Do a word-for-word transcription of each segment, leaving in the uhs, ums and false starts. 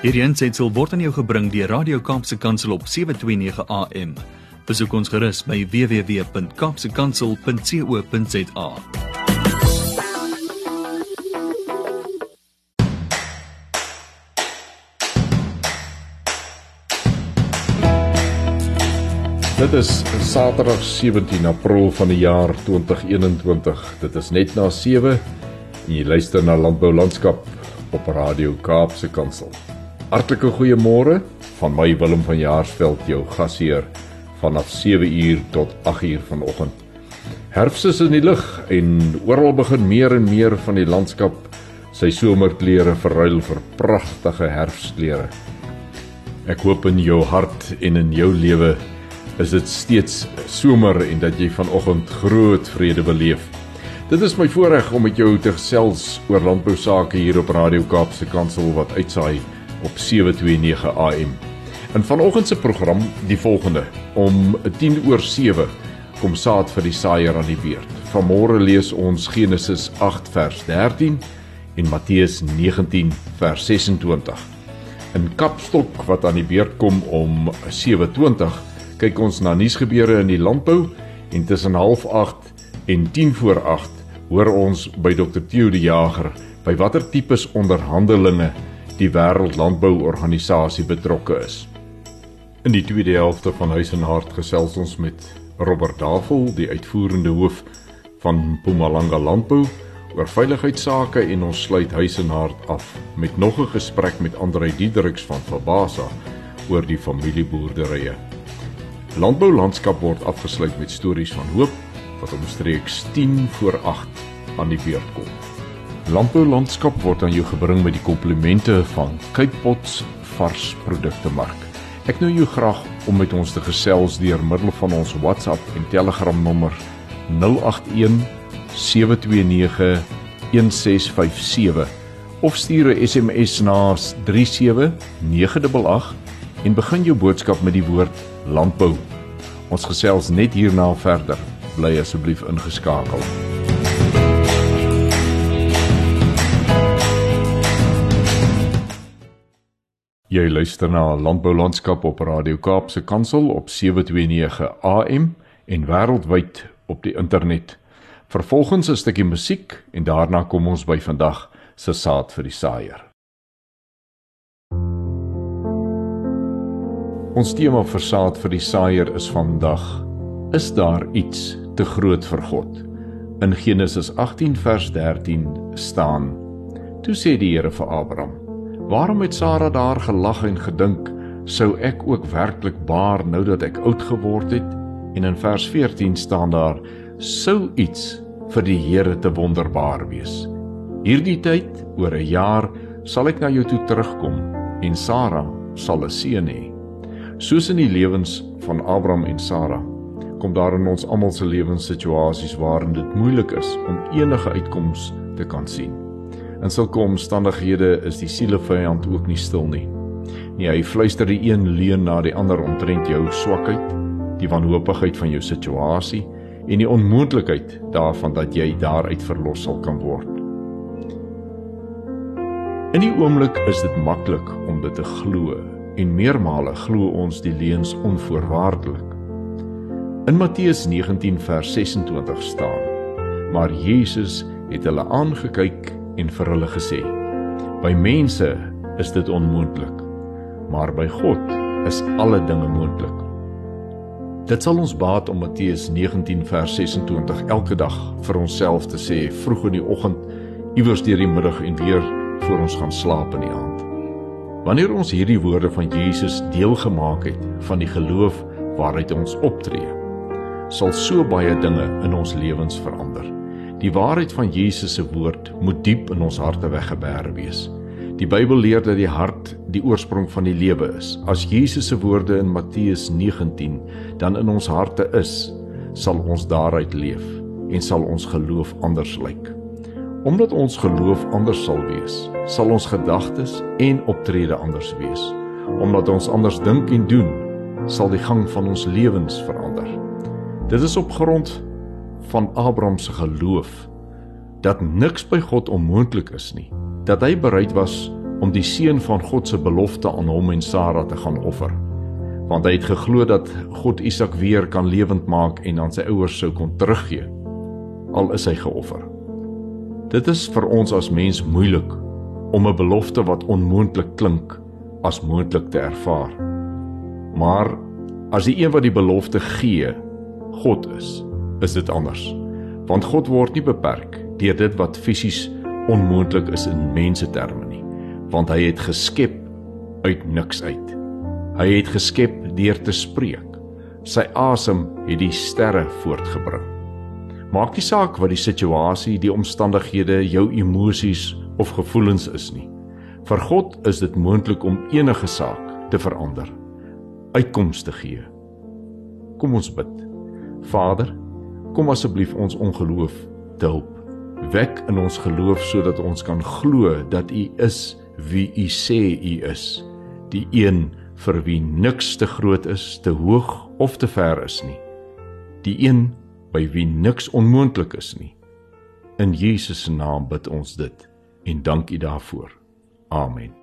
Hierdie aansetsel word aan jou gebring deur Radio Kaapse Kansel op sewe twee nege A M. Besoek ons gerus by w w w punt kaapse kansel punt co punt za. Dit is Saterdag sewentien April van die jaar twintig eenentwintig. Dit is net na sewe en jy luister na Landbou Landskap op Radio Kaapse Kansel. Hartlike goeiemôre van my Willem van Jaarsveld, jou gasheer vanaf sewe uur tot agt uur vanoggend. Herfs is in die lug en oral begin meer en meer van die landskap sy somerklere verruil vir pragtige herfsklere. Ek hoop in jou hart en in jou lewe is dit steeds somer en dat jy vanoggend groot vrede beleef. Dit is my voorreg om met jou te gesels oor landbou sake hier op Radio Kaapse Kansel wat uitsaai op sewe twee nege A M. In vanoggend se program die volgende: om tien oor sewe kom saad vir die saaier aan die beurt. Vanmôre lees ons Genesis agt vers dertien en Matteus negentien vers ses en twintig. In Kapstok wat aan die beurt kom om sewe twintig kyk ons na nuusgebeure in die landbou en tussen half agt en tien voor agt hoor ons by dokter Theo die Jager by watter tipes onderhandelinge die Wêreld Landbouorganisasie betrokke is. In die tweede helfte van Huis en Hart gesels ons met Robert Davel, die uitvoerende hoof van Mpumalanga Landbou, oor veiligheidsake en ons sluit Huis en Hart af met nog 'n gesprek met Andrei Diedericks van Fabasa oor die familieboerderye. Landbou Landskap word afgesluit met stories van hoop wat omstreeks tien voor agt aan die beurt kom. Landbou Landskap word aan jou gebring met die komplimente van Cape Pots vars produkte mark. Ek nooi jou graag om met ons te gesels deur middel van ons WhatsApp en Telegram nommer nul agt een sewe twee nege een ses vyf sewe of stuur 'n S M S na drie sewe nege agt agt en begin jou boodskap met die woord landbou. Ons gesels net hierna verder. Bly asseblief ingeskakel. Jy luister na Landbou Landskap op Radio Kaapse Kansel op sewe twee nege A M en wêreldwyd op die internet. Vervolgens 'n stukkie musiek en daarna kom ons by vandag se saad vir die saaier. Ons tema vir saad vir die saaier is vandag: is daar iets te groot vir God? In Genesis agttien vers dertien staan: toe sê die Here vir Abraham: waarom het Sara daar gelag en gedink, sou ek ook werklik baar nou dat ek oud geword het? En in vers veertien staan daar: sou iets vir die Here te wonderbaar wees. Hierdie tyd, oor 'n jaar, sal ek na jou toe terugkom en Sara sal 'n seun hê. Soos in die lewens van Abraham en Sara, kom daar in ons almal se lewenssituasies waarin dit moeilik is om enige uitkoms te kan sien. In sulke omstandighede is die sielevyand ook nie stil nie. Nee, hy fluister die een leuen na die ander omtrent jou swakheid, die wanhoopigheid van jou situasie en die onmoontlikheid daarvan dat jy daaruit verlos sal kan word. In die oomblik is dit maklik om dit te glo en meermale glo ons die leuns onvoorwaardelik. In Matteus negentien vers ses en twintig staan: maar Jesus het hulle aangekyk en vir hulle gesê: by mense is dit onmoontlik, maar by God is alle dinge moontlik. Dit sal ons baat om Matteus negentien vers ses en twintig elke dag vir onsself te sê, vroeg in die oggend, iewers deur die middag en weer voor ons gaan slaap in die aand. Wanneer ons hierdie woorde van Jesus deel gemaak het van die geloof waaruit ons optree, sal so baie dinge in ons lewens verander. Die waarheid van Jesus se woord moet diep in ons harte weggeberg wees. Die Bybel leer dat die hart die oorsprong van die lewe is. As Jesus se woorde in Matteus negentien dan in ons harte is, sal ons daaruit leef en sal ons geloof anders lyk. Omdat ons geloof anders sal wees, sal ons gedagtes en optrede anders wees. Omdat ons anders dink en doen, sal die gang van ons lewens verander. Dit is op grond van Abraham se geloof dat niks by God onmoontlik is nie, dat hy bereid was om die seun van God se belofte aan hom en Sara te gaan offer. Want hy het geglo dat God Isak weer kan lewend maak en aan sy ouers sou kon teruggee, al is hy geoffer. Dit is vir ons as mens moeilik om 'n belofte wat onmoontlik klink as moontlik te ervaar. Maar as die een wat die belofte gee, God is, is dit anders. Want God word nie beperk deur dit wat fisies onmoontlik is in menseterme nie, want hy het geskep uit niks uit. Hy het geskep deur te spreek. Sy asem het die sterre voortgebring. Maak nie saak wat die situasie, die omstandighede, jou emosies of gevoelens is nie. Vir God is dit moontlik om enige saak te verander, uitkoms te gee. Kom ons bid. Vader, kom asseblief ons ongeloof te help. Wek in ons geloof sodat ons kan glo dat U is wie U sê U is, die een vir wie niks te groot is, te hoog of te ver is nie, die een by wie niks onmoontlik is nie. In Jesus se naam bid ons dit en dank U daarvoor. Amen.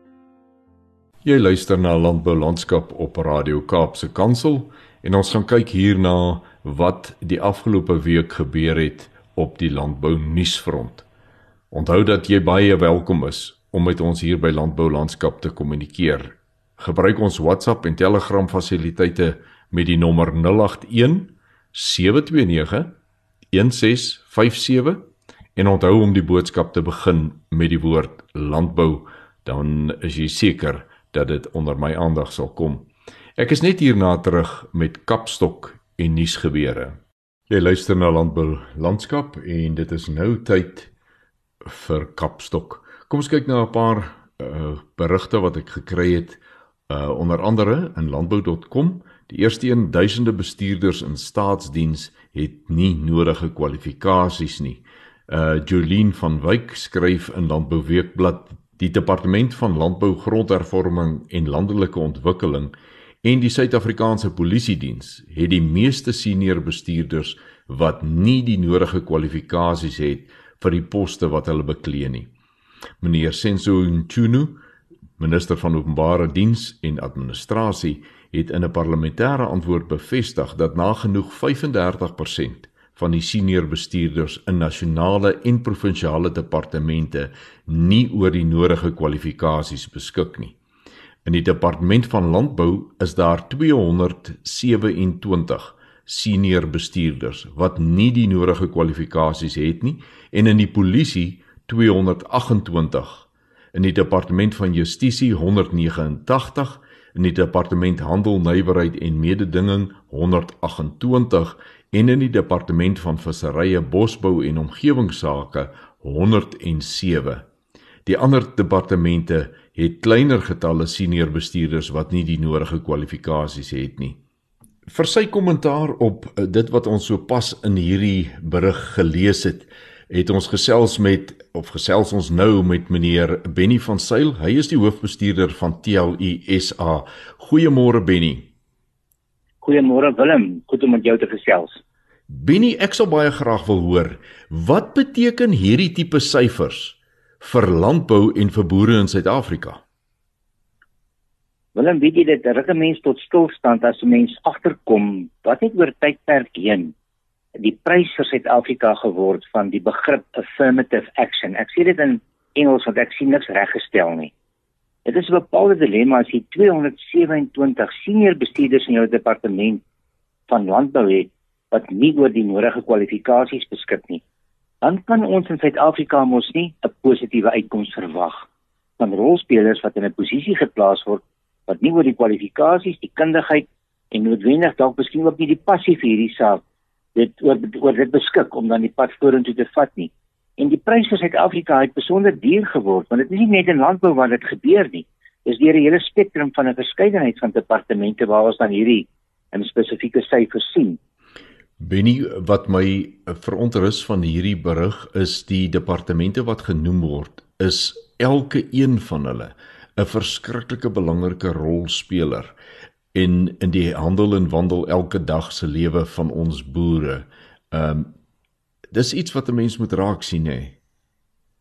Jy luister na Landbou Landskap op Radio Kaapse Kansel en ons gaan kyk hierna wat die afgelope week gebeur het op die landbou nuusfront. Onthou dat jy baie welkom is om met ons hier by Landbou Landskap te kommunikeer. Gebruik ons WhatsApp en Telegram fasiliteite met die nommer nul agt een sewe twee nege een ses vyf sewe en onthou om die boodskap te begin met die woord landbou, dan is jy seker dat dit onder my aandag sal kom. Ek is net hierna terug met Kapstok en nuusgebeure. Jy luister na Landbou Landskap en dit is nou tyd vir Kapstok. Kom ons kyk na 'n paar uh, berigte wat ek gekry het, uh, onder andere in landbou punt com. Die eerste een, duisende bestuurders in staatsdiens het nie nodige kwalifikasies nie. Uh, Jolien van Wyk skryf in Landbou Weekblad, die Departement van Landbou, Grondhervorming en Landelike Ontwikkeling en die Suid-Afrikaanse Polisiediens het die meeste senior bestuurders wat nie die nodige kwalifikasies het vir die poste wat hulle beklee nie. Meneer Senzo Nchunu, minister van Openbare Diens en Administrasie, het in 'n parlementêre antwoord bevestig dat nagenoeg vyf en dertig persent van die senior bestuurders in nasionale en provinsiale departemente nie oor die nodige kwalifikasies beskik nie. In die Departement van Landbou is daar tweehonderd sewe-en-twintig senior bestuurders wat nie die nodige kwalifikasies het nie en in die polisie tweehonderd agt-en-twintig, in die Departement van Justisie honderd negenentagtig, in die Departement Handel, Nywerheid en Mededinging honderd agt-en-twintig en in die Departement van Visserye, Bosbou en Omgewingsake honderd en sewe. Die ander departemente het kleiner getalle senior bestuurders wat nie die nodige kwalifikasies het nie. Vir sy kommentaar op dit wat ons so pas in hierdie berig gelees het, het ons gesels met, of gesels ons nou met meneer Benny van Sail. Hy is die hoofbestuurder van T L U S A. Goeiemôre Benny. Goeiemôre Willem, goed om met jou te gesels. Benny, ek sal baie graag wil hoor, wat beteken hierdie tipe syfers vir landbou en vir boere in Suid-Afrika? Willem, weet jy dit, ruk 'n mens tot stilstand as 'n mens agterkom, wat het oor tydperk heen die prys vir Suid-Afrika geword van die begrip affirmative action. Ek sê dit in Engels want ek sien niks reggestel nie. Dit is 'n bepaalde dilemma as jy tweehonderd sewe-en-twintig senior bestuurders in jou departement van landbou het wat nie oor die nodige kwalifikasies beskik nie. Dan kan ons in Suid-Afrika mos nie 'n positiewe uitkoms verwag van rolspelers wat in 'n posisie geplaas word wat nie oor die kwalifikasies, die kundigheid en noodwendig dalk miskien ook nie die passie vir hierdie saak dit oor, oor dit beskik om dan die pad vorentoe te vat nie. En die prys vir Suid-Afrika het besonder duur geword, want dit is nie net in landbou waar dit gebeur nie. Dis deur 'n hele spektrum van 'n verskeidenheid van departemente waar ons dan hierdie in spesifieke syfers sien. Benny, wat my verontrus van hierdie berig is die departemente wat genoem word, is elke een van hulle 'n verskriklike belangrike rolspeler in in die handel en wandel elke dag se lewe van ons boere. Um, dis iets wat 'n mens moet raak sien, hè?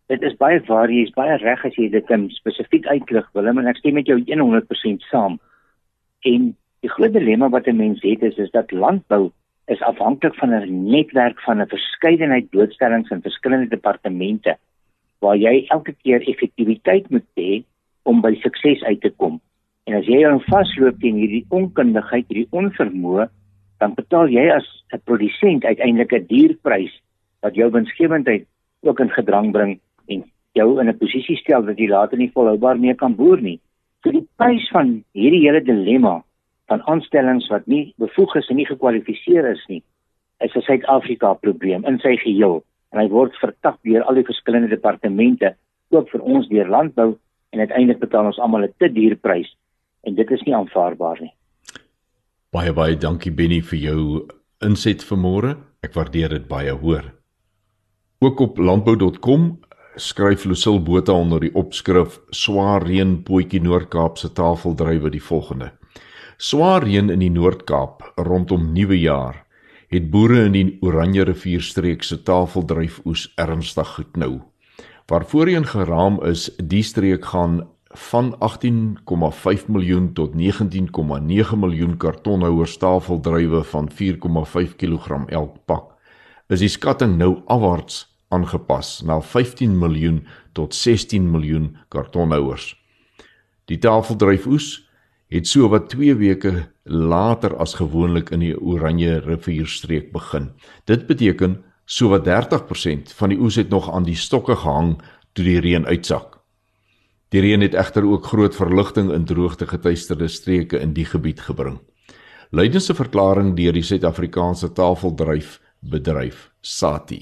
dit is baie waar, jy is baie reg as jy dit um, spesifiek uitlig, Willem, en ek stem met jou honderd persent saam. En die groot dilemma wat 'n mens het is, is dat landbou is afhanklik van 'n netwerk van 'n verskeidenheid blootstellings in verskillende departemente, waar jy elke keer effektiwiteit moet hê om by sukses uit te kom. En as jy dan vasloop teen hierdie onkundigheid, hierdie onvermoë, dan betaal jy as 'n produsent uiteindelik 'n duur prys wat jou winsgewendheid ook in gedrang bring en jou in 'n posisie stel dat jy later nie volhoubaar meer kan boer nie. So die prys van hierdie hele dilemma van aanstellings wat nie bevoeg is en nie gekwalifiseer is nie, is 'n Suid-Afrika probleem in sy geheel. En hy word vertak deur al die verskillende departemente, ook vir ons deur landbou, en uiteindelik betaal ons almal 'n te duur prys. En dit is nie aanvaarbaar nie. Baie baie dankie Benny vir jou inset vanmôre. Ek waardeer dit baie hoor. Ook op landbou punt com skryf Lucille Botha onder die opskrif Swaar reën Potjie Noord-Kaap se tafeldrywe die volgende. Swaar reën in die Noord-Kaap rondom Nuwe Jaar het boere in die Oranje rivierstreek se tafeldryfoes ernstig geknou. Waar voorheen geraam is, die streek gaan van agttien komma vyf miljoen tot negentien komma nege miljoen kartonhouers tafeldrywe van vier komma vyf kilogram elk pak, is die skatting nou afwaarts aangepas na vyftien miljoen tot sestien miljoen kartonhouers. Die tafeldryfoes het so wat twee weke later as gewoonlik in die Oranje rivierstreek begin. Dit beteken so wat dertig persent van die oes het nog aan die stokke gehang toe die reën uitsak. Die reën het egter ook groot verligting in droogte getuisterde streke in die gebied gebring. Lydens 'n verklaring deur die Suid-Afrikaanse tafeldryfbedryf SATI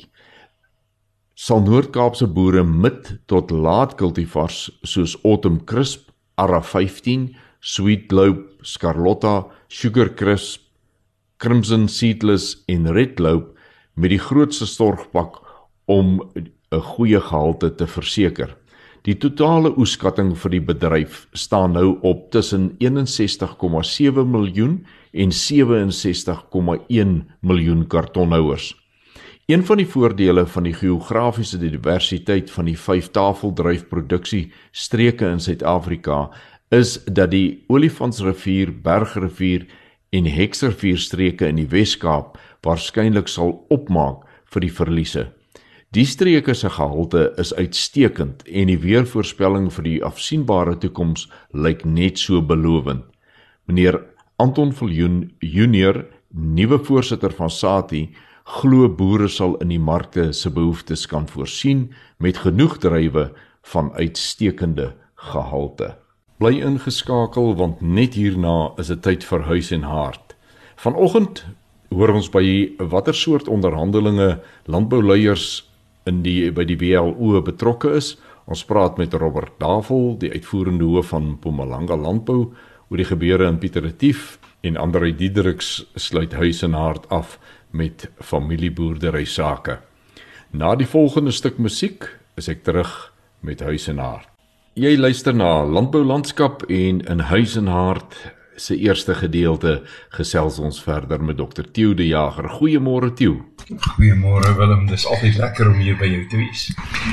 sal Noord-Kaapse boere mid tot laat kultivars soos Autumn Crisp, Ara vyftien, Sweet Lobe, Scarlotta, Sugar Crisp, Crimson Seedless en Red Lobe met die grootste storgpak om 'n goeie gehalte te verseker. Die totale oeskatting vir die bedryf staan nou op tussen eenensestig komma sewe miljoen en sewe en sestig komma een miljoen kartonhouers. Een van die voordele van die geografiese diversiteit van die vyf tafeldryfproduksie streke in Suid-Afrika is dat die Olifantsrivier, Bergrivier en Heksrivier streke in die Wes-Kaap waarskynlik sal opmaak vir die verliese. Die streke se gehalte is uitstekend en die weervoorspelling vir die afsienbare toekoms lyk net so belovend. Meneer Anton Viljoen Junior, nuwe voorsitter van SATI, glo boere sal in die markte se behoeftes kan voorsien met genoeg druiwe van uitstekende gehalte. Bly ingeskakel want net hierna is dit tyd vir Huis en Hart. Vanoggend hoor ons by watter soort onderhandelinge landbouleiers in die by die W L O betrokke is. Ons praat met Robert Davel, die uitvoerende hoof van Mpumalanga Landbou, oor die gebeure in Pieter Retief, en Andrei Diedericks sluit Huis en Hart af met familieboerdery sake. Na die volgende stuk musiek is ek terug met Huis en Hart. Jy luister na Landbou Landskap en in Huis en Hart se eerste gedeelte gesels ons verder met dokter Theo de Jager. Goeiemôre Theo. Goeiemôre Willem, dis altyd lekker om hier by jou te wees.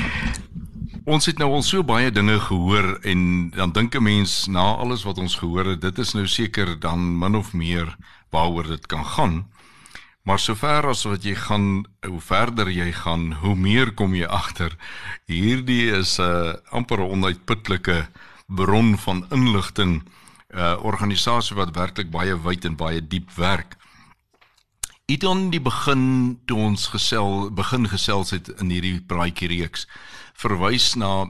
Ons het nou al so baie dinge gehoor en dan dink 'n mens na alles wat ons gehoor het, dit is nou seker dan min of meer waaroor dit kan gaan. Maar sover as wat jy gaan, hoe verder jy gaan, hoe meer kom jy agter. Hierdie is 'n uh, amper 'n onuitputlike bron van inligting, 'n uh, organisasie wat werklik baie wyd en baie diep werk. Iets aan die begin toe ons gesel, begin gesels het in hierdie praatjie reeks, verwys na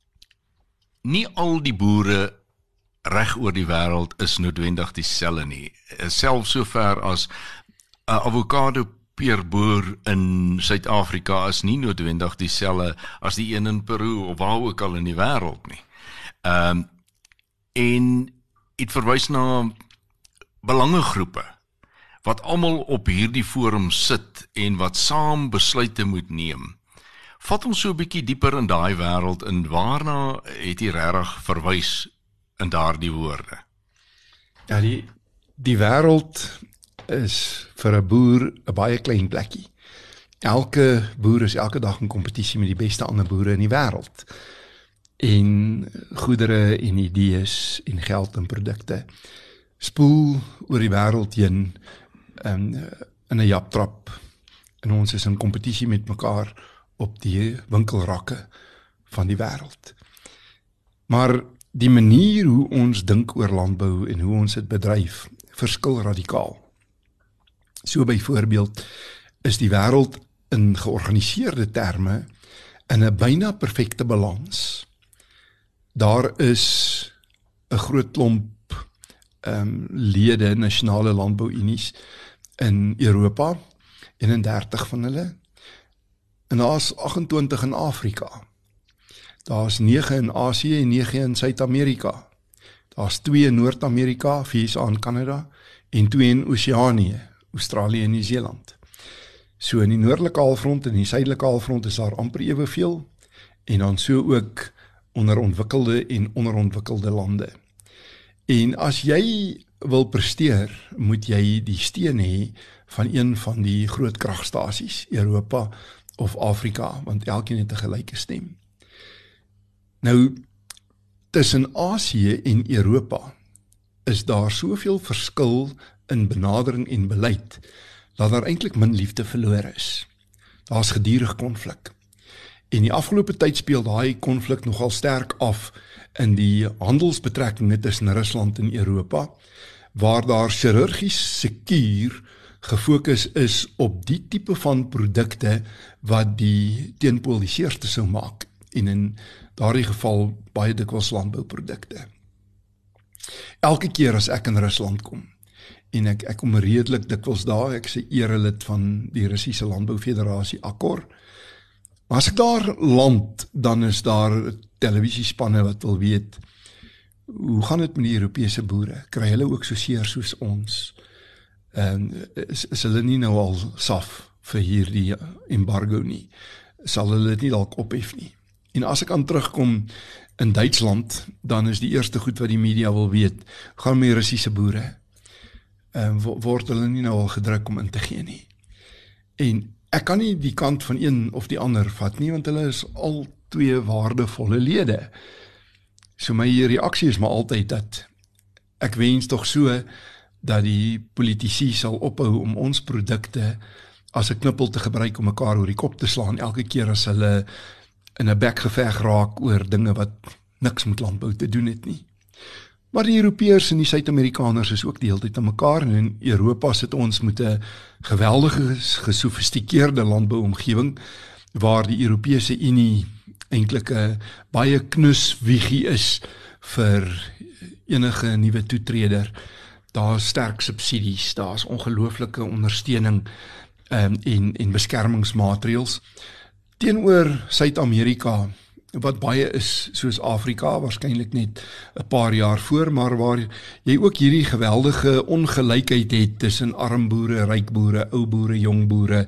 nie al die boere reg oor die wêreld is noodwendig dieselfde nie. Selfs sover as 'n avokado peerboer in Suid-Afrika is nie noodwendig dieselfde as die een in Peru of waar ook al in die wêreld nie. Ehm um, en dit verwys na belangegroepe wat almal op hierdie forum sit en wat saam besluite moet neem. Vat ons so 'n bietjie dieper in daai wêreld in, waarna het jy regtig verwys in daardie woorde? Ja, die die wêreld is vir 'n boer 'n baie klein plekkie. elke boer is elke dag in kompetisie met die beste ander boere in die wêreld. En goedere en idees en geld en produkte spoel oor die wêreld heen um, in 'n japtrap. En ons is in kompetisie met mekaar op die winkelrakke van die wêreld. Maar die manier hoe ons dink oor landbou en hoe ons dit bedryf, verskil radikaal. So byvoorbeeld is die wêreld in georganiseerde terme in 'n byna perfekte balans. Daar is 'n groot klomp um, lede, nasionale landbouunies in Europa, eenendertig van hulle, en daar is agt-en-twintig in Afrika. Daar is nege in Asië en nege in Suid-Amerika. Daar is twee in Noord-Amerika, V S A en Kanada, en twee in Oseanië, Australië en Nieu-Seeland. So in die noordelike halfrond en die suidelike halfrond is daar amper eweveel, en dan so ook onderontwikkelde en onderontwikkelde lande. En as jy wil presteer, moet jy die steun hê van een van die groot kragstasies, Europa of Afrika, want elkeen het 'n gelyke stem. Nou, tussen Asië en Europa is daar soveel verskil in benadering en beleid, dat daar eintlik min liefde verlore is. Daar is gedurig konflik. En die afgelope tyd speel daai konflik nogal sterk af in die handelsbetrekkinge tussen Rusland en Europa, waar daar chirurgies sekuur gefokus is op die tipe van produkte wat die teenpool die seerste sou maak, en in daardie geval baie dikwels landbouprodukte. Elke keer as ek in Rusland kom, en ek, ek kom redelik dikwels daar, ek is 'n erelid van die Russiese Landboufederasie Akkor, maar as ek daar land, dan is daar televisiespanne wat wil weet, hoe gaan dit met die Europese boere? Kry hulle ook so seer soos ons? En is, is hulle nie nou al saf vir hierdie embargo nie? Sal hulle dit nie dalk ophef nie? En as ek aan terugkom in Duitsland, dan is die eerste goed wat die media wil weet, gaan met Russiese boere, en word hulle nie nou al gedruk om in te gee nie. En ek kan nie die kant van een of die ander vat nie, want hulle is al twee waardevolle lede. So my reaksie is maar altyd dat ek wens tog so dat die politici sal ophou om ons produkte as 'n knippel te gebruik om mekaar oor die kop te slaan elke keer as hulle in 'n bekgeveg raak oor dinge wat niks met landbou te doen het nie. Maar die Europeërs en die Suid-Amerikaners is ook die hele tyd aan mekaar, en in Europa sit ons met 'n geweldige gesofistikeerde landbouomgewing waar die Europese Unie eintlik 'n baie knus wiegie is vir enige nuwe toetreder. Daar is sterk subsidies, daar is ongelooflike ondersteuning um, en, en beskermingsmaatreëls. Teenoor Suid-Amerika, wat baie is soos Afrika, waarskynlik net 'n paar jaar voor, maar waar jy ook hierdie geweldige ongelykheid het tussen arm boere, ryk boere, ou boere, jong boere,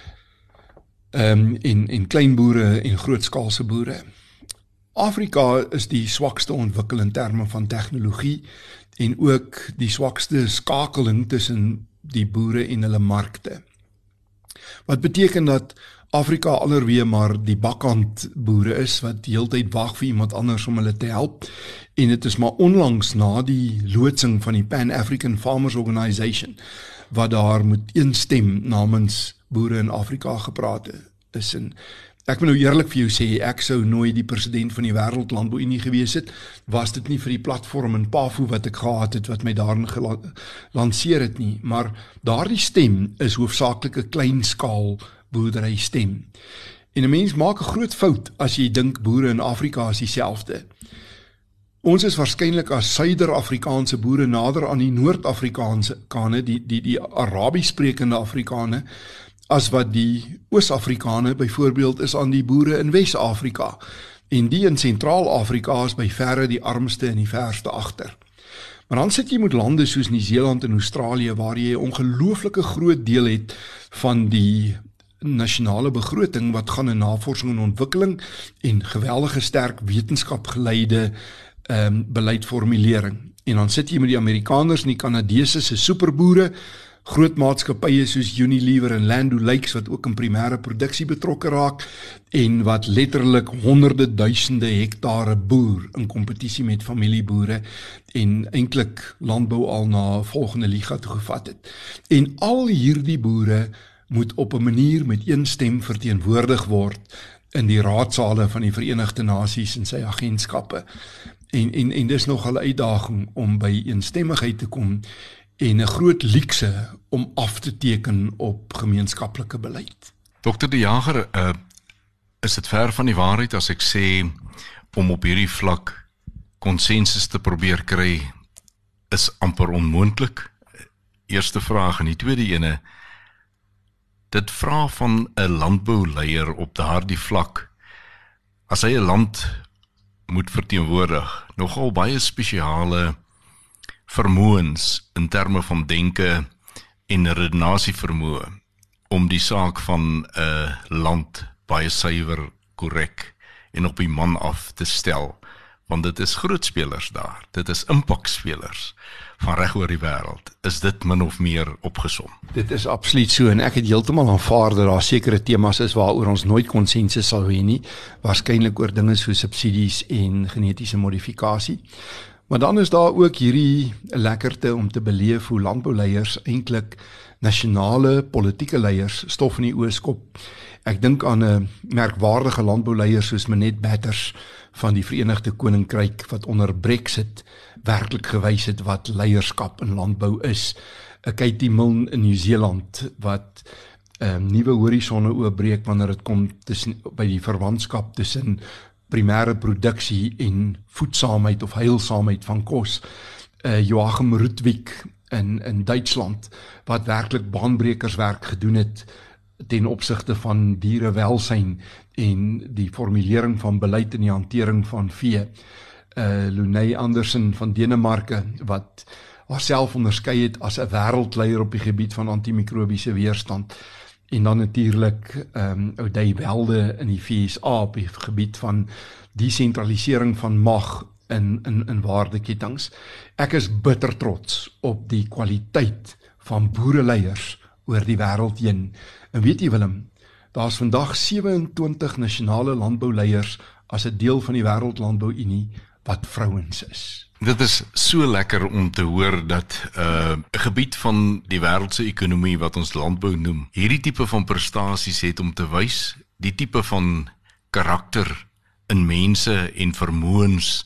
um, en, en klein boere en grootskaalse boere. Afrika is die swakste ontwikkel in terme van tegnologie en ook die swakste skakeling tussen die boere en hulle markte. Wat beteken dat Afrika allerweer maar die bakkant boere is wat die hele tyd wag vir iemand anders om hulle te help, en dit is maar onlangs na die loodsing van die Pan-African Farmers Organisation wat daar met een stem namens boere in Afrika gepraat is. En ek moet nou eerlik vir jou sê, ek sou nooit die president van die Wêreld Landbouunie gewees het, was dit nie vir die platform in P A F O wat ek gehad het, wat my daarin gelanceer het nie, maar daardie stem is hoofsaaklik 'n kleinskaal boerdery stem. En 'n mens maak 'n groot fout as jy dink boere in Afrika is dieselfde. Ons is waarskynlik as Suider-Afrikaanse boere nader aan die Noord-Afrikaanse kane, die die die Arabies sprekende Afrikane, as wat die Oos-Afrikane byvoorbeeld is aan die boere in Wes-Afrika. En die in Sentraal-Afrika is by verre die armste en die verste agter. Maar dan sit jy met lande soos Nieu-Seeland en Australië waar jy 'n ongelooflike groot deel het van die nasionale begroting wat gaan in navorsing en ontwikkeling en geweldige sterk wetenskapgeleide um, beleidformulering. En dan sit jy met die Amerikaners en die Kanadese se superboere, groot maatskappye soos Unilever en Land O'Lakes wat ook in primêre produksie betrokke raak en wat letterlik honderde duisende hektare boer in kompetisie met familieboere en eintlik landbou al na 'n volgende liga toe gevat het. En al hierdie boere moet op 'n manier met een stem verteenwoordig word in die raadsale van die Verenigde Nasies en sy agentskappe. En en en dis nog 'n uitdaging om by eensstemmigheid te kom en 'n groot luukse om af te teken op gemeenskaplike beleid. Dokter De Jager, uh, is dit ver van die waarheid as ek sê om op hierdie vlak konsensus te probeer kry is amper onmoontlik? Eerste vraag en die tweede ene, dit vra van 'n landbouleier op daardie vlak, as hy 'n land moet verteenwoordig, nogal baie spesiale vermoëns in terme van denke en redenasie vermoë om die saak van 'n uh, land baie suiwer, korrek en op die man af te stel, want dit is grootspelers daar, dit is impakspelers van reg oor die wêreld. Is dit min of meer opgesom? Dit is absoluut so en ek het heeltemal aanvaar dat daar sekere temas is waaroor ons nooit konsensus sal hê nie, waarskynlik oor dinge so subsidies en genetiese modifikasie. Maar dan is daar ook hierdie lekkerte om te beleef hoe landbouleiers eintlik nasionale politieke leiers stof in die oë skop. Ek dink aan 'n merkwaardige landbouleier soos Minette Batters van die Verenigde Koninkryk wat onder Brexit werklik gewys het wat leierskap in landbou is. 'n Katie Milne in Nieu-Seeland wat um, nuwe horisonne oopbreek wanneer dit kom tussen by die verwantskap tussen primêre produksie en voedsaamheid of heilsaamheid van kos. Uh, Joachim Rudwig in in Duitsland wat werklik baanbrekerswerk gedoen het ten opsigte van dierewelsyn en die formulering van beleid en die hantering van vee. Uh, Lunay Andersen van Denemarke wat haarself onderskei het as 'n wêreldleier op die gebied van antimikrobiese weerstand. En dan natuurlik um, O'Day Welde in die V S A op die gebied van desentralisering van mag in in in waardeketings. Ek is bitter trots op die kwaliteit van boereleiers oor die wêreld heen. En weet jy Willem, daar's vandag sewe-en-twintig nasionale landbouleiers as 'n deel van die Wêreldlandbou-Unie wat vrouens is. Dit is so lekker om te hoor dat 'n uh, gebied van die wêreldse ekonomie wat ons landbou noem, hierdie tipe van prestasies het om te wys, die tipe van karakter in mense en vermoëns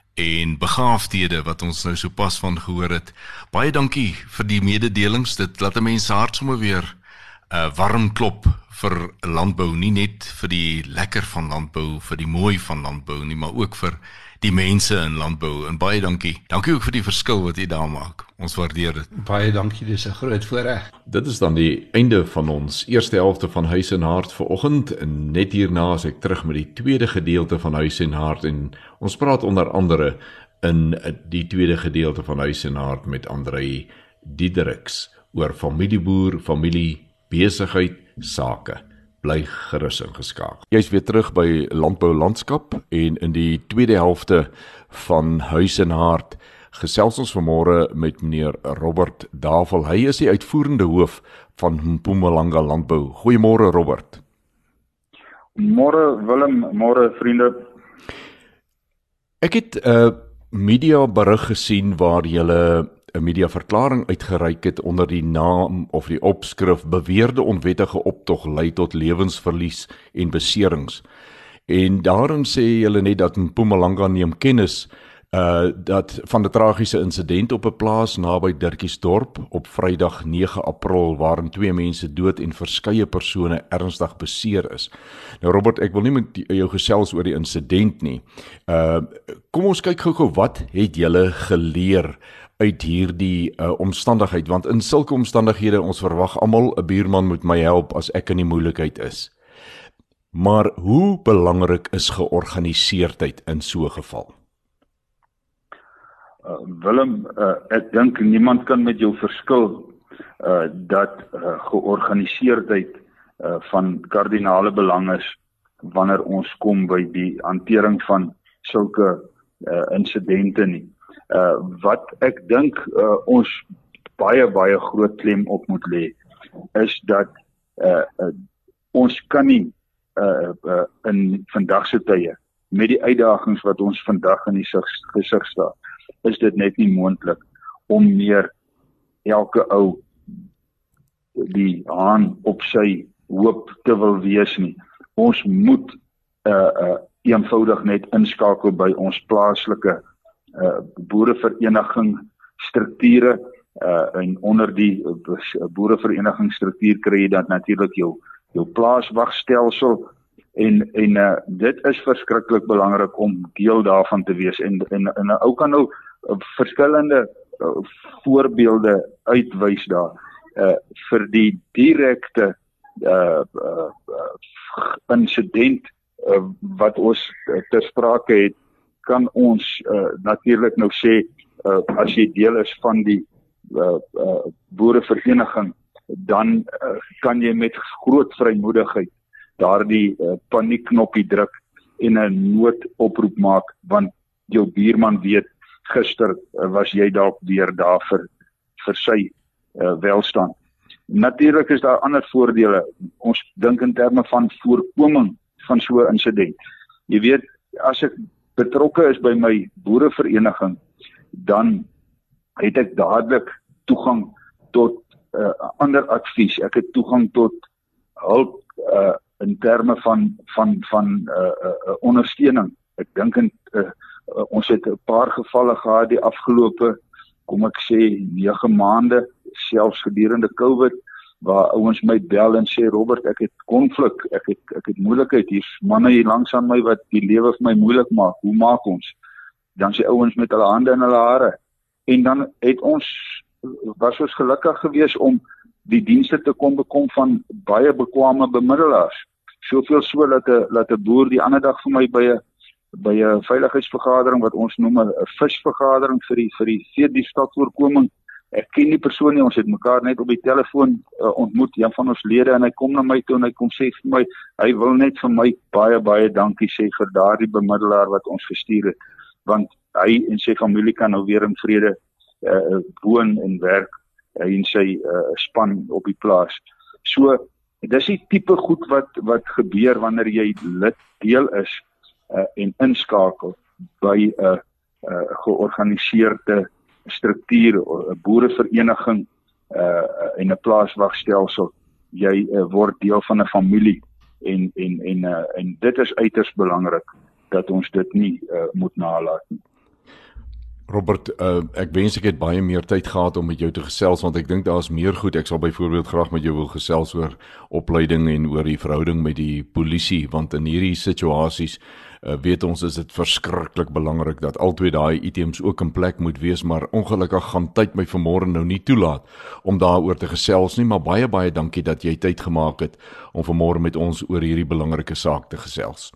en begaafdhede wat ons nou sopas van gehoor het. Baie dankie vir die mededelings, dit laat 'n mens hart sommer weer uh, warm klop vir landbou, nie net vir die lekker van landbou, vir die mooi van landbou nie, maar ook vir die mense in landbou, en baie dankie. Dankie ook vir die verskil wat jy daar maak. Ons waardeer dit. Baie dankie, dis 'n groot voorreg. Dit is dan die einde van ons eerste helfte van Huis en Hart vir oggend, en net hierna is ek terug met die tweede gedeelte van Huis en Hart, en ons praat onder andere in die tweede gedeelte van Huis en Hart met Andrei Diederiks oor familieboer, familie, besigheid, sake. Bly gerus ingeskakel. Jy is weer terug by Landbou Landskap, en in die tweede helfte van Huis en Hart gesels ons vanmôre met meneer Robert Davel. Hy is die uitvoerende hoof van Mpumalanga Landbou. Goeiemôre Robert. Môre Willem, môre vriende. Ek het 'n uh, media berig gesien waar julle 'n mediaverklaring uitgereik het onder die naam of die opskrif beweerde onwettige optog lei tot lewensverlies en beserings. En daarin sê julle net dat Mpumalanga neem kennis uh dat van 'n tragiese insident op 'n plaas naby Dirkiesdorp op Vrydag nege April waarin twee mense dood en verskeie persone ernstig beseer is. Nou Robert, ek wil nie met jou gesels oor die insident nie. Uh kom ons kyk gou-gou, wat het julle geleer uit hierdie uh, omstandigheid, want in sulke omstandighede ons verwag almal 'n buurman moet my help as ek in die moeilikheid is. Maar hoe belangrik is georganiseerdheid in so 'n geval? Uh, Willem, uh, ek dink niemand kan met jou verskil uh, dat uh, georganiseerdheid uh, van kardinale belang is wanneer ons kom by die hantering van sulke uh, insidente nie. Uh, wat ek dink uh, ons baie baie groot klem op moet lê, is dat uh, uh, ons kan nie uh, uh, in vandag se tye met die uitdagings wat ons vandag in die gesig staan, is dit net nie moontlik om meer elke ou die haan op sy hoop te wil wees nie. Ons moet uh, uh, eenvoudig net inskakel by ons plaaslike uh, boerevereniging strukture uh, en onder die uh, boerevereniging struktuur kry jy dan natuurlik jou jou plaaswagstelsel en en uh, dit is verskriklik belangrik om deel daarvan te wees en en, en uh, ou kan nou uh, verskillende uh, voorbeelde uitwys daar uh, vir die direkte uh, uh, uh, insident uh, wat ons uh, ter sprake het, kan ons uh, natuurlik nou sê uh, as jy deel is van die uh, uh, boerevereniging, dan uh, kan jy met groot vrymoedigheid daardie uh, paniekknoppie druk en 'n noodoproep maak, want jou buurman weet gister uh, was jy dalk weer daar vir vir sy uh, welstand. Natuurlik is daar ander voordele. Ons dink in terme van voorkoming van so 'n insident. Jy weet, as ek betrokke is by my boerevereniging, dan het ek dadelik toegang tot uh, ander advies. Ek het toegang tot hulp uh, in terme van van van uh, uh, ondersteuning. Ek dink in uh, uh, ons het 'n paar gevalle gehad die afgelope, kom ek sê, nege maande, selfs gedurende COVID, waar ouens my bel en sê, Robert, ek het konflik, ek het ek het moeilikheid, hier's manne hier langs aan my wat die lewe vir my moeilik maak. Hoe maak ons? Dan sê ouens met hulle hande in hulle hare. En dan het ons was ons gelukkig geweest om die dienste te kon bekom van baie bekwame bemiddelaars. Soveel so dat 'n dat 'n boer die ander dag vir my by 'n by 'n veiligheidsvergadering wat ons noem 'n visvergadering vir die vir die veediefstalvoorkoming. Ek ken die persoon nie, ons het mekaar net op die telefoon uh, ontmoet, een van ons lede, en hy kom na my toe en hy kom sê vir my, hy wil net vir my baie baie dankie sê vir daardie bemiddelaar wat ons gestuur het, want hy en sy familie kan nou weer in vrede uh, woon en werk, hy en sy uh, span op die plaas. So, dis die tipe goed wat wat gebeur wanneer jy lid deel is uh, en inskakel by 'n uh, uh, georganiseerde struktuur, 'n boerevereniging uh, en 'n plaaswagstelsel. Jy uh, word deel van 'n familie en en en uh, en dit is uiters belangrik dat ons dit nie uh, moet nalat nie. Robert, uh, ek wens ek het baie meer tyd gehad om met jou te gesels, want ek dink daar is meer goed. Ek sal byvoorbeeld graag met jou wil gesels oor opleiding en oor die verhouding met die polisie, want in hierdie situasies uh, weet ons is dit verskriklik belangrik dat albei daai items ook in plek moet wees, maar ongelukkig gaan tyd my vanmôre nou nie toelaat om daaroor te gesels nie, maar baie baie dankie dat jy tyd gemaak het om vanmôre met ons oor hierdie belangrike saak te gesels.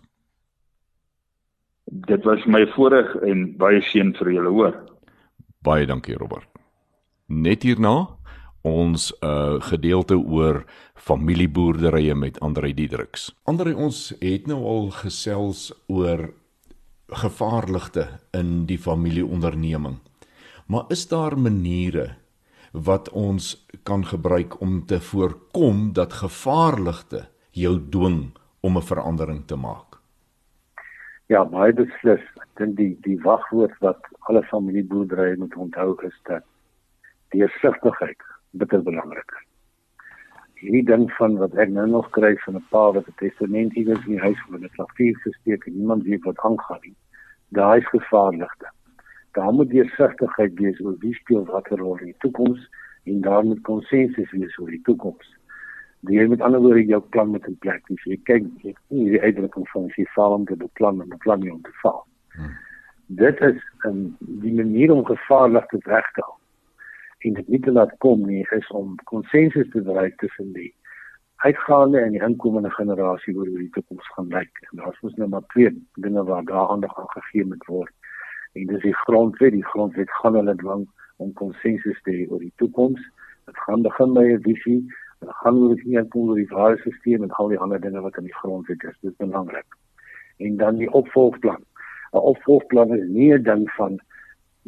Dit was my voorreg en baie seën vir julle, hoor. Baie dankie, Robert. Net hierna, ons uh, gedeelte oor familieboerderye met Andrei Diedericks. Andrei, ons het nou al gesels oor gevaarligte in die familieonderneming. Maar is daar maniere wat ons kan gebruik om te voorkom dat gevaarligte jou dwing om 'n verandering te maak? Ja, baie beslis. Ek dink die die wagwoord wat alle familieboerderye moet onthou is dat deursigtigheid bitter belangrik is. Hierdie ding van wat ek nou nog kry van 'n pa wat 'n testament iewers in die huis voor 'n klavier gesteek en niemand weet wat aangaan nie. Daar is gevaarligte. Daar moet deursigtigheid wees oor wie speel watter rol in die toekoms en daar moet konsensus wees oor die toekoms. Jy met ander woorde jou plan met 'n plek. As jy kyk, jy het nie die uitdrukking van as jy val om te beplan en beplan nie om te val. Hmm. Dit is um, die manier om gevaarligte weg te hou. En dit nie te laat kom nie, is om konsensus te bereik tussen die uitgaande en die inkomende generasie oor hoe die toekoms gaan lyk. En daar is nou maar twee dinge waar daar aandag aan gegee moet word. En dis die grondwet, die grondwet gaan hulle dwing om konsensus te hê oor die toekoms. Dit gaan begin by 'n visie. Dan gaan we dus niet aankomen door die waardesysteem en al die andere dingen wat in die grondwet is. Dat is belangrijk. En dan die opvolgplan. Een opvolgplan is niet een ding van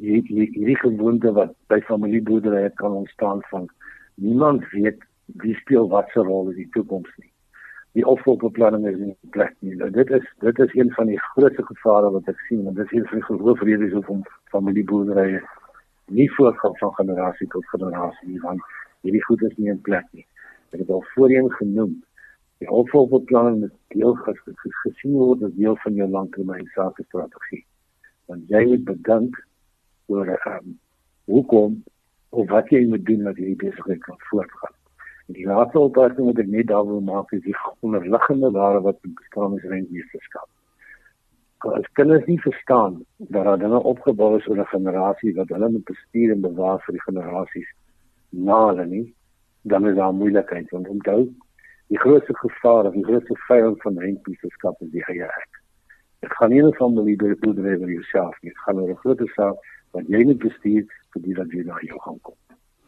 hierdie gewoonte wat by familieboerderye kan ontstaan van niemand weet wie speel wat se rol in die toekoms nie. Die opvolgbeplanning is nie in plek nie. Nou, dit is dit is een van die grootste gevare wat ek sien, en dit is een van die hoofredes hoekom familieboerderye nie voortgaan van generasie tot generasie nie, want hierdie goed is nie in plek nie. Ek het al voorheen genoem, die opvolgbeplanning moet deel gesien word as deel van jou langtermyn sakestrategie. Want jy moet bedink oor um, hoekom of wat jy moet doen dat hierdie besigheid kan voortgaan. En die laaste opmerking wat ek net daar wil maak is die onderliggende waarde wat bestaan is rentmeesterskap. As kinders nie verstaan dat daar dinge opgebou is oor 'n generasie wat hulle moet bestuur en bewaar vir die generasies na hulle nie, dan is daar moeilikheid. Want onthou, die grootste gevaar of die grootste vyand van rentmeesterskap is die eie ek. Dit gaan nie oor familieboerdery oor jouself nie, dit gaan oor 'n groter saak wat jy moet bestuur vir die wat jy na jou gaan kom.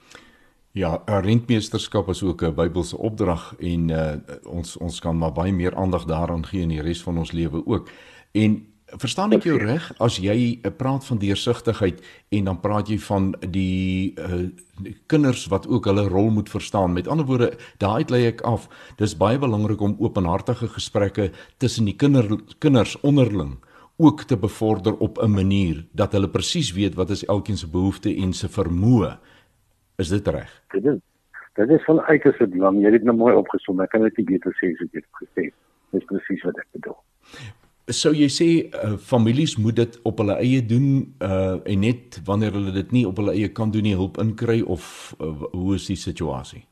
Ja, rentmeesterskap is ook 'n Bybelse opdrag en uh, ons ons kan maar baie meer aandag daaraan gee in die res van ons lewe ook. En verstaan ek jou reg as jy uh, praat van deursigtigheid en dan praat jy van die, uh, die kinders wat ook hulle rol moet verstaan. Met ander woorde, daaruit lei ek af. Dis baie belangrik om openhartige gesprekke tussen die kinder, kinders onderling ook te bevorder op 'n manier dat hulle presies weet wat is elkeen se behoefte en se vermoë. Is dit reg? Dit is, dit is van uiterste belang. Jy het dit nou mooi opgesom. Ek kan dit nie beter sê as ek het gesê. Dit is presies wat ek bedoel. Sou jy sê uh, families moet dit op hulle eie doen uh, en net wanneer hulle dit nie op hulle eie kan doen nie hulp inkry of uh, hoe is die situasie?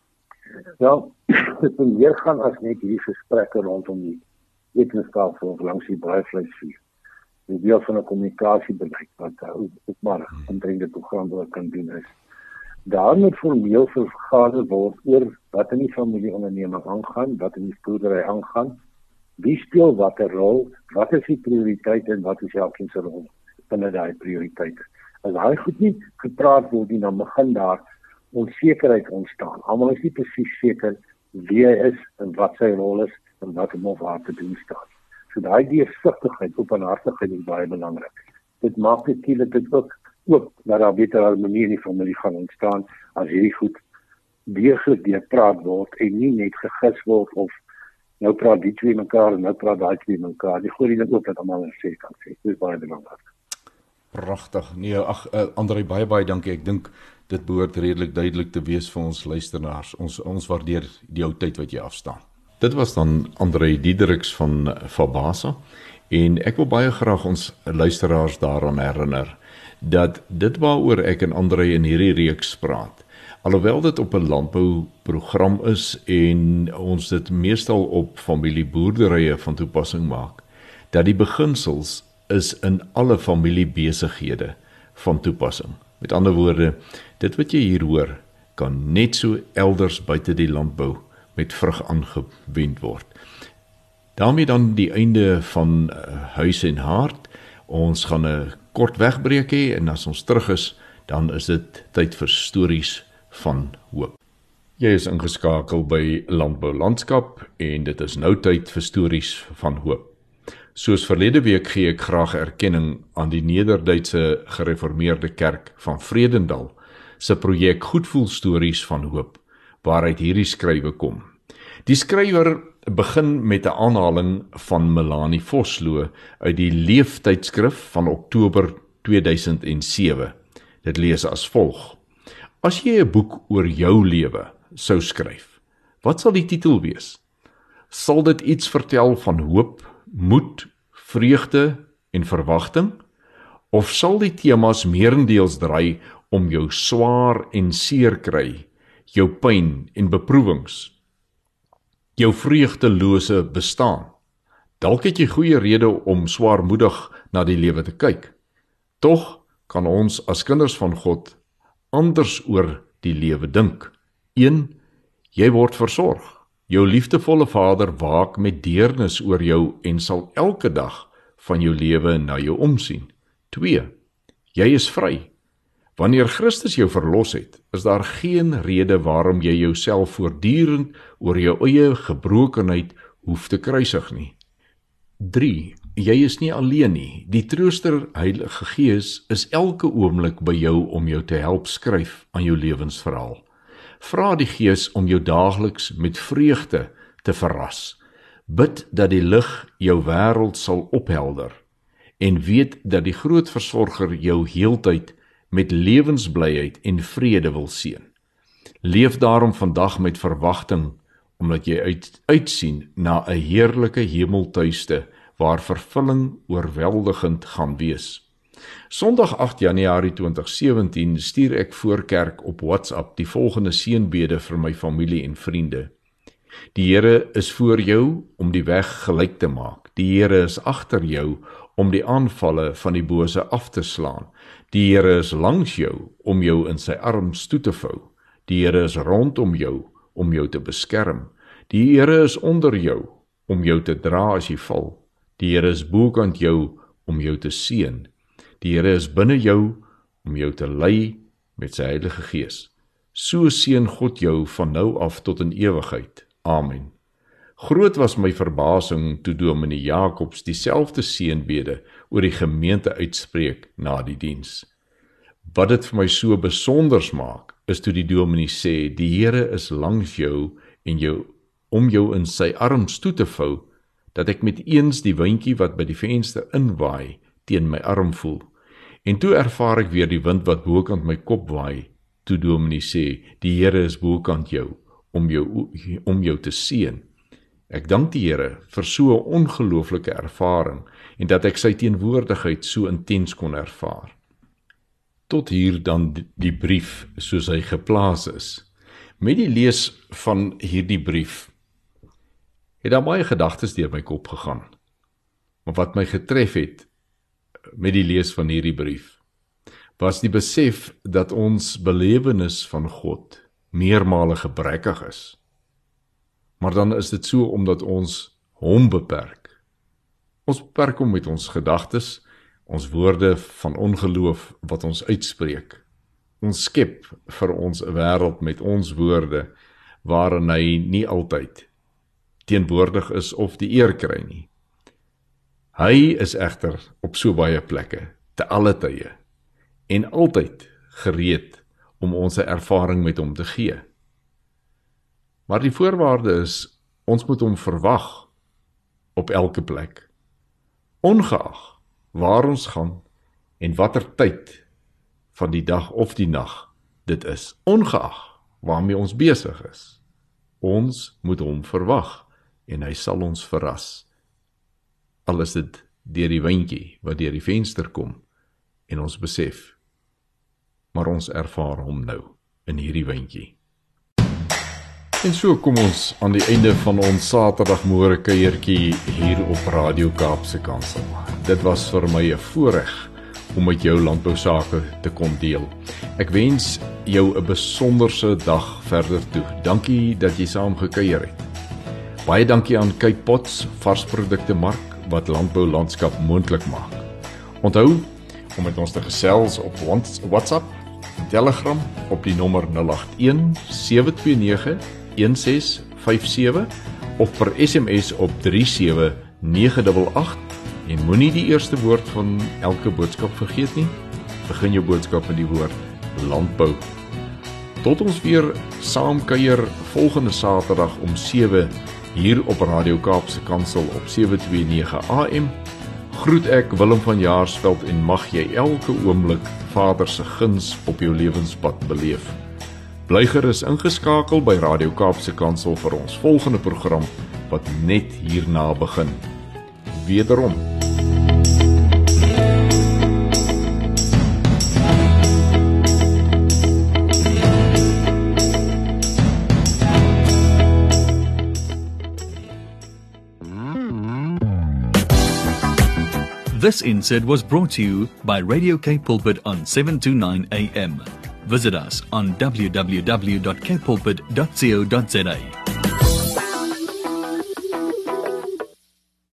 Ja, dit moet meer gaan as net hierdie gesprekke rondom die etenstafel of langs die braaivleisvuur. Die deel van 'n kommunikasiebeleid wat uh, ook maar omtrent die program wat kan doen is. Daar moet formeel vergader word oor wat in die familieonderneming aangaan, wat in die boerdery aangaan, wie speel watter rol, wat is die prioriteit en wat is elkeen se rol binne daai prioriteite. As daai goed nie gepraat word nie, dan begin daar onsekerheid ontstaan. Almal is nie presies seker wie hy is en wat sy rol is en wat hom of haar te doen staan. So daai deursigtigheid, openhartigheid is baie belangrik. Dit maak natuurlik dit ook ook dat daar beter harmonie in die familie gaan ontstaan as hierdie goed deeglik deurpraat word en nie net gegis word of nou praat die twee mekaar en nou praat daai twee mekaar. Die goeie ding ook dat almal in sê kan sê. Dit is baie belangrik. Pragtig. Nee, ag uh, André, baie baie dankie. Ek dink dit behoort redelik duidelik te wees vir ons luisteraars. Ons ons waardeer die ou tyd wat jy afstaan. Dit was dan André Diedericks van Fabasa en ek wil baie graag ons luisteraars daaraan herinner dat dit waaroor ek en André in hierdie reeks praat, alhoewel dit op 'n landbouprogram is en ons dit meestal op familieboerderye van toepassing maak, dat die beginsels is in alle familiebesighede van toepassing. Met ander woorde, dit wat jy hier hoor, kan net so elders buite die landbou met vrug aangewend word. Daarmee dan die einde van uh, Huis en Hart. Ons gaan 'n kort wegbreek hê en as ons terug is, dan is dit tyd vir stories van hoop. Jy is ingeskakel by Landbou Landskap en dit is nou tyd vir stories van hoop. Soos verlede week gee ek graag erkenning aan die Nederduitse Gereformeerde Kerk van Vredendal se projek Goedvoel Stories van Hoop, waaruit hierdie skrywe kom. Die skrywer begin met 'n aanhaling van Melanie Vosloo uit die Leeftydskrif van Oktober tweeduisend sewe. Dit lees as volg: As jy 'n boek oor jou lewe sou skryf, wat sal die titel wees? Sal dit iets vertel van hoop, moed, vreugde en verwagting? Of sal die temas meerendeels draai om jou swaar en seer kry, jou pyn en beproewings, jou vreugdelose bestaan? Dalk het jy goeie rede om swaarmoedig na die lewe te kyk. Tog kan ons as kinders van God anders oor die lewe dink. een. Jy word versorg. Jou liefdevolle Vader waak met deernis oor jou en sal elke dag van jou lewe na jou omsien. twee. Jy is vry. Wanneer Christus jou verlos het, is daar geen rede waarom jy jouself voortdurend oor jou eie gebrokenheid hoef te kruisig nie. drie. jy is nie alleen nie. Die Trooster, Heilige Gees, is elke oomblik by jou om jou te help skryf aan jou lewensverhaal. Vra die Gees om jou daagliks met vreugde te verras. Bid dat die lig jou wêreld sal ophelder en weet dat die groot Versorger jou heeltyd met lewensblyheid en vrede wil seën. Leef daarom vandag met verwagting, omdat jy uit, uitsien na 'n heerlike hemeltuiste waar vervulling oorweldigend gaan wees. Sondag agt Januarie twintig sewentien stuur ek voor kerk op WhatsApp die volgende seënbede vir my familie en vriende. Die Here is voor jou om die weg gelyk te maak. Die Here is agter jou om die aanvalle van die bose af te slaan. Die Here is langs jou om jou in sy arms toe te vou. Die Here is rondom jou om jou te beskerm. Die Here is onder jou om jou te dra as jy val. Die Here is bokant jou om jou te seën. Die Here is binne jou om jou te lei met sy Heilige Gees. So seën God jou van nou af tot in ewigheid. Amen. Groot was my verbasing toe Dominee Jacobs dieselfde seënbede oor die gemeente uitspreek na die diens. Wat dit vir my so besonders maak, is toe die dominee sê, die Here is langs jou en jou om jou in sy arms toe te vou, dat ek met eens die windjie wat by die venster inwaai teen my arm voel. En toe ervaar ek weer die wind wat bokant my kop waai, toe dominee sê, die Here is bokant jou om jou om jou te seën. Ek dank die Here vir so 'n ongelooflike ervaring en dat ek sy teenwoordigheid so intens kon ervaar. Tot hier dan die brief soos hy geplaas is. Met die lees van hierdie brief het daar baie gedagtes deur my kop gegaan. Maar wat my getref het met die lees van hierdie brief, was die besef dat ons belewenis van God meermale gebrekkig is. Maar dan is dit so omdat ons hom beperk. Ons beperk hom met ons gedagtes, ons woorde van ongeloof wat ons uitspreek. Ons skep vir ons 'n wêreld met ons woorde, waarin hy nie altyd teenwoordig is of die eer kry nie. Hy is egter op so baie plekke, te alle tye, en altyd gereed om ons 'n ervaring met hom te gee. Maar die voorwaarde is, ons moet hom verwag op elke plek, ongeag waar ons gaan en watter tyd van die dag of die nag dit is, ongeag waarmee ons besig is. Ons moet hom verwag en hy sal ons verras. Al is dit deur die windjie wat deur die venster kom en ons besef, maar ons ervaar hom nou in hierdie windjie. En so kom ons aan die einde van ons Saterdagmôre kuiertjie hier op Radio Kaapse Kansel. Dit was vir my 'n voorreg om met jou landbou sake te kon deel. Ek wens jou 'n besonderse dag verder toe. Dankie dat jy saam gekuier het. Baie dankie aan Cape Pots varsprodukte mark wat landbou landskap moontlik maak. Onthou om met ons te gesels op WhatsApp, Telegram op die nommer nul agt een sewe twee nege een ses vyf sewe of per S M S op drie sewe nege agt agt en moenie die eerste woord van elke boodskap vergeet nie. Begin jou boodskap met die woord landbou. Tot ons weer saam kuier volgende Saterdag om sewe hier op Radio Kaapse Kansel op sewe twee nege A M. Groet ek Willem van Jaarsveld en mag jy elke oomblik Vader se guns op jou lewenspad beleef. Bly gerus ingeskakel by Radio Kaapse Kansel vir ons volgende program wat net hierna begin. Wederom. This insert was brought to you by Radio Cape Pulpit on seven twenty-nine A M. Visit us on w w w dot cape pulpit dot co dot za.